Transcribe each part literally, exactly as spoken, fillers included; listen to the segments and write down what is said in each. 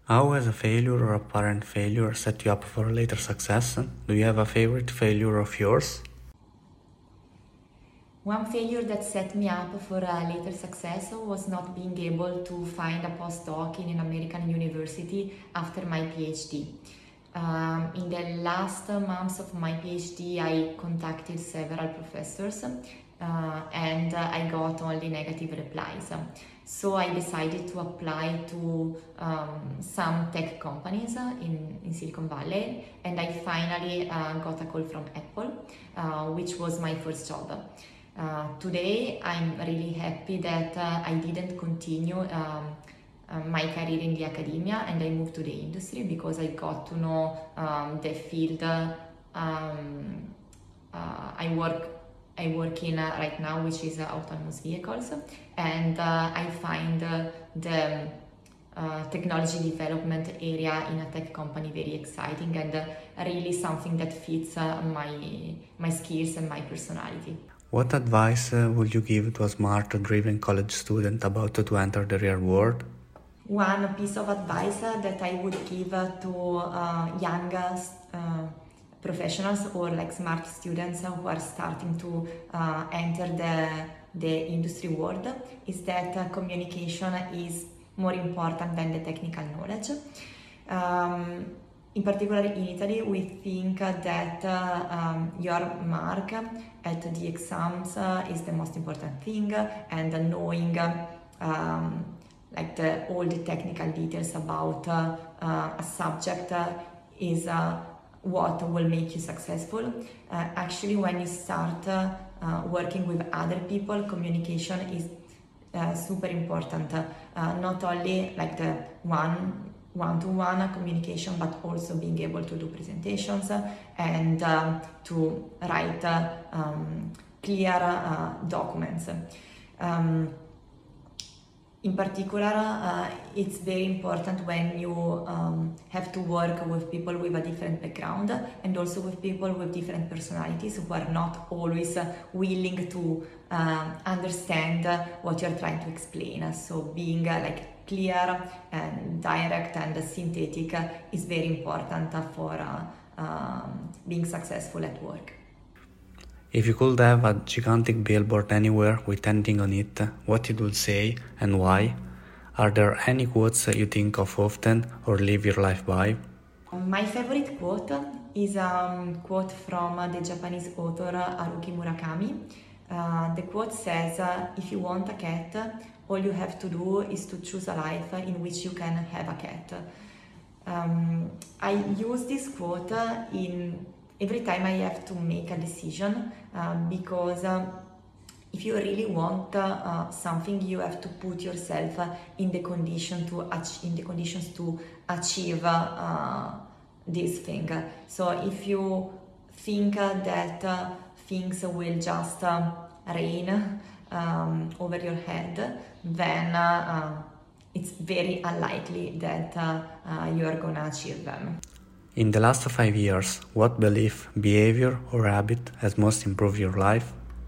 How has a failure or apparent failure set you up for later success? Do you have a favorite failure of yours? One failure that set me up for a later success was not being able to find a postdoc in an American university after my PhD. Um, in the last months of my PhD, I contacted several professors uh, and uh, I got only negative replies. So I decided to apply to um, some tech companies in, in Silicon Valley, and I finally uh, got a call from Apple, uh, which was my first job. Uh, today, I'm really happy that uh, I didn't continue um, uh, my career in the academia and I moved to the industry because I got to know um, the field um, uh, I work I work in uh, right now, which is uh, autonomous vehicles, and uh, I find uh, the uh, technology development area in a tech company very exciting and uh, really something that fits uh, my my skills and my personality. What advice uh, would you give to a smart, driven college student about to enter the real world? One piece of advice uh, that I would give uh, to uh, young uh, professionals or like smart students uh, who are starting to uh, enter the, the industry world is that uh, communication is more important than the technical knowledge. Um, In particular in Italy, we think that uh, um, your mark at the exams uh, is the most important thing, and uh, knowing uh, um, like the, all the technical details about uh, uh, a subject uh, is uh, what will make you successful. Uh, actually, when you start uh, uh, working with other people, communication is uh, super important. Uh, not only like the one one-to-one communication, but also being able to do presentations and um, to write uh, um, clear uh, documents. Um, in particular, uh, it's very important when you um, have to work with people with a different background and also with people with different personalities who are not always uh, willing to uh, understand uh, what you're trying to explain. So being uh, like clear and direct and synthetic is very important for uh, um, being successful at work. If you could have a gigantic billboard anywhere with anything on it, what it would say and why? Are there any quotes you think of often or live your life by? My favorite quote is a quote from the Japanese author Haruki Murakami. Uh, the quote says, uh, if you want a cat, all you have to do is to choose a life in which you can have a cat. Um, I use this quote in every time I have to make a decision uh, because uh, if you really want uh, something, you have to put yourself in the condition to ach- in the conditions to achieve uh, this thing. So if you think that uh, things will just uh, rain um, over your head, then uh, uh, it's very unlikely that uh, uh, you are gonna achieve them. In the last five years, what belief, behavior, or habit has most improved your life?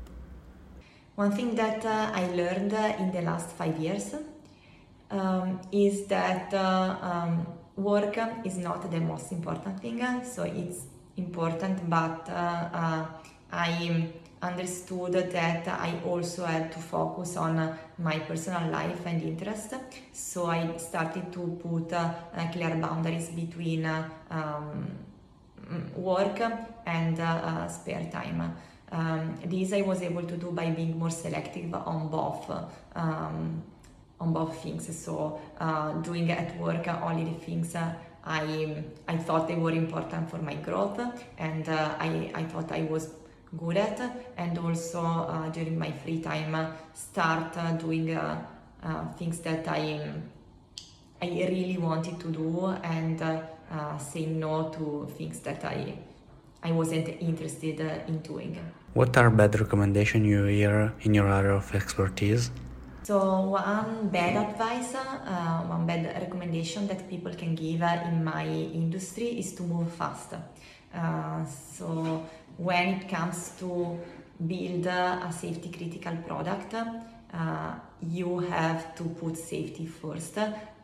One thing that uh, I learned uh, in the last five years um, is that uh, um, work is not the most important thing, so it's important, but uh, uh, I understood that I also had to focus on my personal life and interest, so I started to put uh, clear boundaries between uh, um, work and uh, uh, spare time. Um, this I was able to do by being more selective on both um, on both things. So uh, doing at work only the things uh, I I thought they were important for my growth, and uh, I I thought I was good at, and also uh, during my free time uh, start uh, doing uh, uh, things that I I really wanted to do, and uh, uh, say no to things that I I wasn't interested uh, in doing. What are bad recommendations you hear in your area of expertise? So one bad advice, uh, one bad recommendation that people can give uh, in my industry is to move fast. Uh, so when it comes to build a safety critical product, uh, you have to put safety first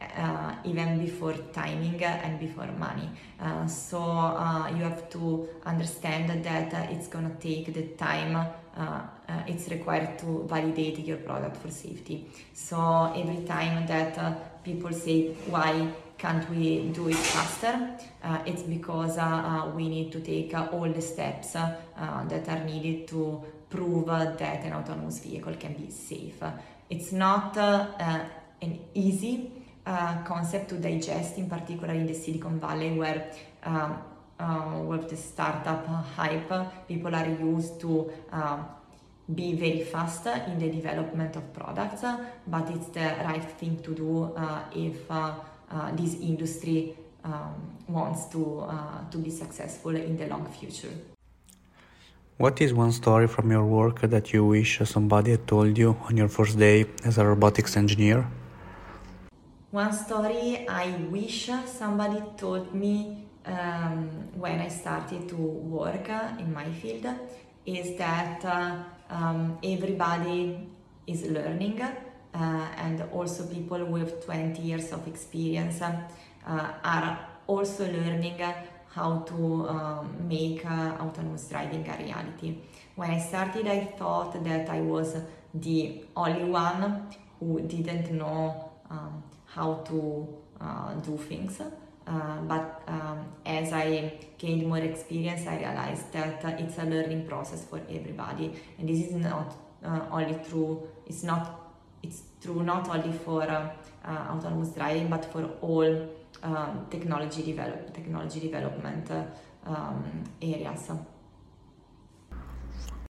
uh, even before timing and before money. Uh, so uh, you have to understand that uh, it's gonna take the time uh, uh, it's required to validate your product for safety. So every time that uh, people say, why can't we do it faster? Uh, it's because uh, uh, we need to take uh, all the steps uh, uh, that are needed to prove uh, that an autonomous vehicle can be safe. It's not uh, uh, an easy uh, concept to digest, in particular in the Silicon Valley, where um, uh, with the startup hype, people are used to um, be very fast in the development of products, but it's the right thing to do uh, if uh, uh, this industry um, wants to, uh, to be successful in the long future. What is one story from your work that you wish somebody had told you on your first day as a robotics engineer? One story I wish somebody told me um, when I started to work uh, in my field is that uh, um, everybody is learning, uh, and also people with twenty years of experience uh, are also learning how to um, make uh, autonomous driving a reality. When I started, I thought that I was the only one who didn't know um, how to uh, do things. Uh, but um, as I gained more experience, I realized that uh, it's a learning process for everybody, and this is not uh, only true. It's not. It's true not only for uh, uh, autonomous driving, but for all um, technology develop technology development uh, um, areas.